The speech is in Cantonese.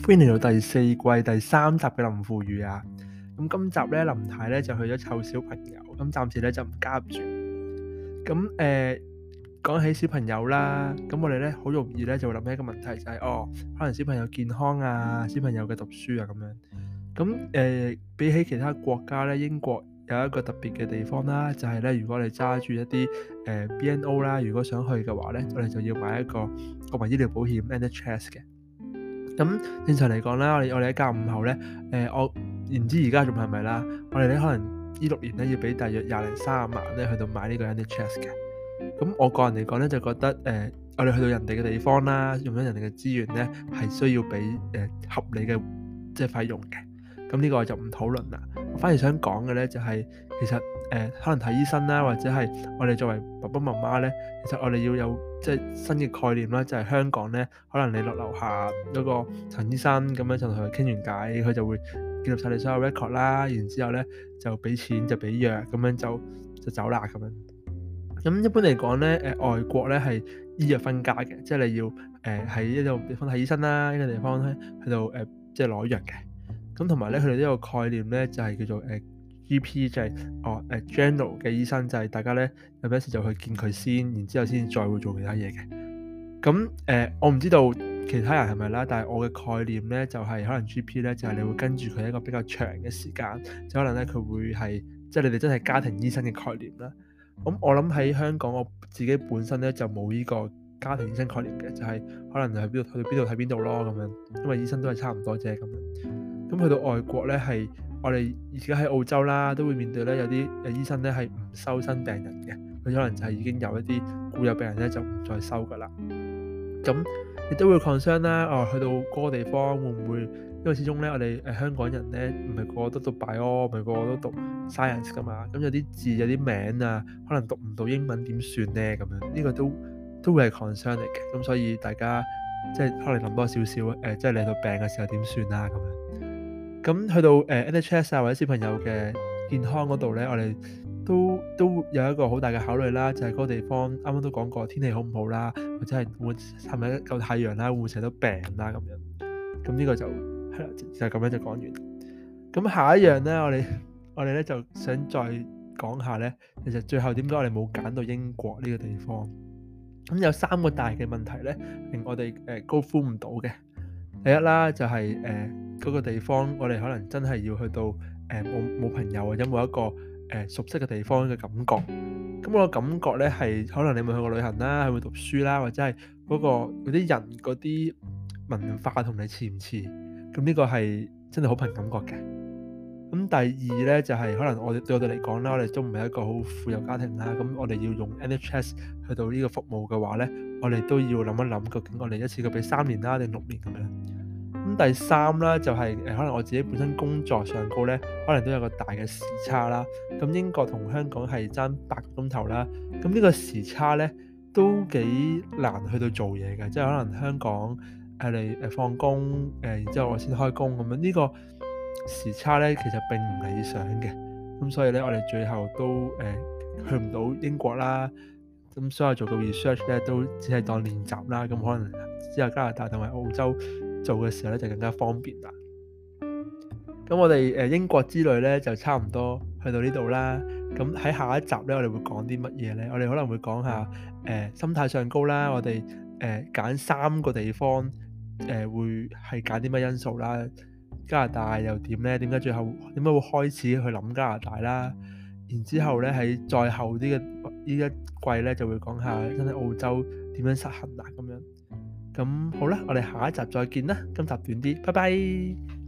歡迎嚟到第4季第3集嘅林富語啊！咁今集咧，林太咧就去咗湊小朋友，咁暫時咧就唔加入住。咁講起小朋友啦，咁我哋咧好容易咧就會諗起一個問題，就係可能小朋友健康啊，小朋友嘅讀書啊咁樣。咁比起其他國家咧，英國有一個特別嘅地方啦，就係咧，如果你揸住一啲BNO 啦，如果想去嘅話咧，我哋就要買一個國民醫療保險 NHS 嘅。咁正常嚟講啦，我哋喺教5後咧，我唔知而家仲係咪啦，我哋咧可能呢6年咧要俾大約20零30萬咧去到買呢個 NHS 嘅。咁我個人嚟講咧就覺得我哋去到人哋嘅地方啦，用咗人哋嘅資源咧係需要俾合理嘅即係費用嘅。咁呢個我就唔討論啦。我反而想講嘅咧就係其實可能睇醫生啦，或者係我哋作為爸爸媽媽咧，其實我哋要有即係新嘅概念啦，就係香港咧，可能你落樓下嗰個陳醫生咁樣就同佢傾完偈，佢就會記錄晒你所有 record 啦，然之後咧就俾錢就俾藥咁樣就走啦咁樣。咁一般嚟講咧，外國咧係醫藥分家嘅，即係你要喺一個地方睇醫生啦，一個地方咧去到即係攞藥嘅。咁同埋咧，佢哋呢個概念咧就係叫做GP，就係general 嘅醫生，就係大家咧有咩事就去見佢先，然之後先再會做其他嘢嘅。咁我唔知道其他人係咪啦，但係我嘅概念咧就係可能 GP 咧就係你會跟住佢一個比較長嘅時間，就可能咧佢會係即係你哋真係家庭醫生嘅概念啦。咁我諗喺香港我自己本身咧就冇呢個家庭醫生概念嘅，就係可能去邊度睇邊度咯咁樣，因為醫生都係差唔多啫咁樣。咁去到外國咧，係我哋而家喺澳洲啦，都會面對咧有啲醫生咧係唔收新病人嘅，佢可能就係已經有一啲固有病人咧就唔再收噶啦。咁亦都會 concern 啦，去到嗰個地方會唔會？因為始終咧我哋香港人咧唔係個個都讀 bio，唔係個個都讀 science 噶嘛。咁有啲字有啲名啊，可能讀唔到英文點算咧？咁樣呢個都會係 concern 嚟嘅。咁所以大家即係可能諗多少少即係嚟到病嘅時候點算啦咁樣。咁去到NHS 啊或者小朋友嘅健康嗰度咧，我哋都有一個好大嘅考慮啦，就係嗰個地方啱啱都講過天氣好唔好啦，或者係咪夠太陽啦，會唔會成日都病啦咁樣。咁呢個就係啦，就咁樣就講完。咁下一樣咧，我哋咧就想再講下咧，其實最後點解我哋冇揀到英國呢個地方？咁有3個大嘅問題咧，令我哋go through唔到嘅。第一啦，就係嗰個地方，我哋可能真係要去到冇朋友或者冇一個熟悉嘅地方嘅感覺。咁我嘅感覺咧係可能你冇去過旅行啦，去會讀書啦，或者係嗰啲人嗰啲文化同你似唔似？咁呢個係真係好憑感覺嘅。咁第二咧就係可能對我哋嚟講啦，我哋都唔係一個好富有家庭啦。咁我哋要用 NHS 去到呢個服務嘅話咧，我哋都要諗一諗，究竟我哋一次過俾3年啦定6年咁樣。咁第三啦就係可能我自己本身工作上高咧，可能都有個大嘅時差啦。咁英國同香港係爭8個鐘頭啦。咁呢個時差咧都幾難去到做嘢嘅，即係可能香港你放工然之後我先開工咁樣。呢個時差咧其實並唔理想嘅。咁所以咧我哋最後都去唔到英國啦。咁所有做嘅 research 咧都只係當練習啦。咁可能之後加拿大同埋澳洲做嘅時候咧就更加方便啦。咁我哋英國之旅咧就差唔多去到呢度啦。咁喺下一集咧我哋會講啲乜嘢咧？我哋可能會講下心態上高啦。我哋揀3個地方會係揀啲乜因素啦？加拿大又點咧？點解最後點解會開始去諗加拿大啦？然之後咧喺再後啲嘅呢一季咧就會講下真係澳洲點樣實行啦咁樣。咁好啦，我哋下一集再見啦。今集短啲，拜拜。